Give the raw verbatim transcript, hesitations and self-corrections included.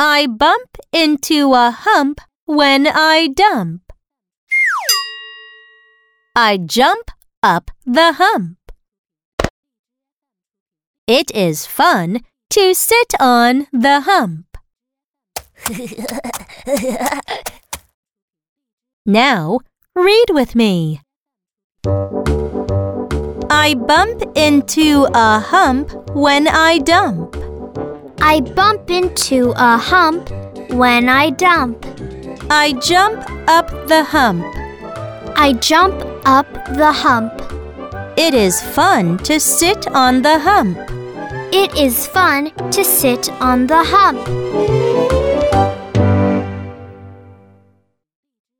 I bump into a hump when I dump. I jump up the hump. It is fun to sit on the hump. Now, read with me. I bump into a hump when I dump. I bump into a hump when I dump. I jump up the hump. I jump up the hump. It is fun to sit on the hump. It is fun to sit on the hump.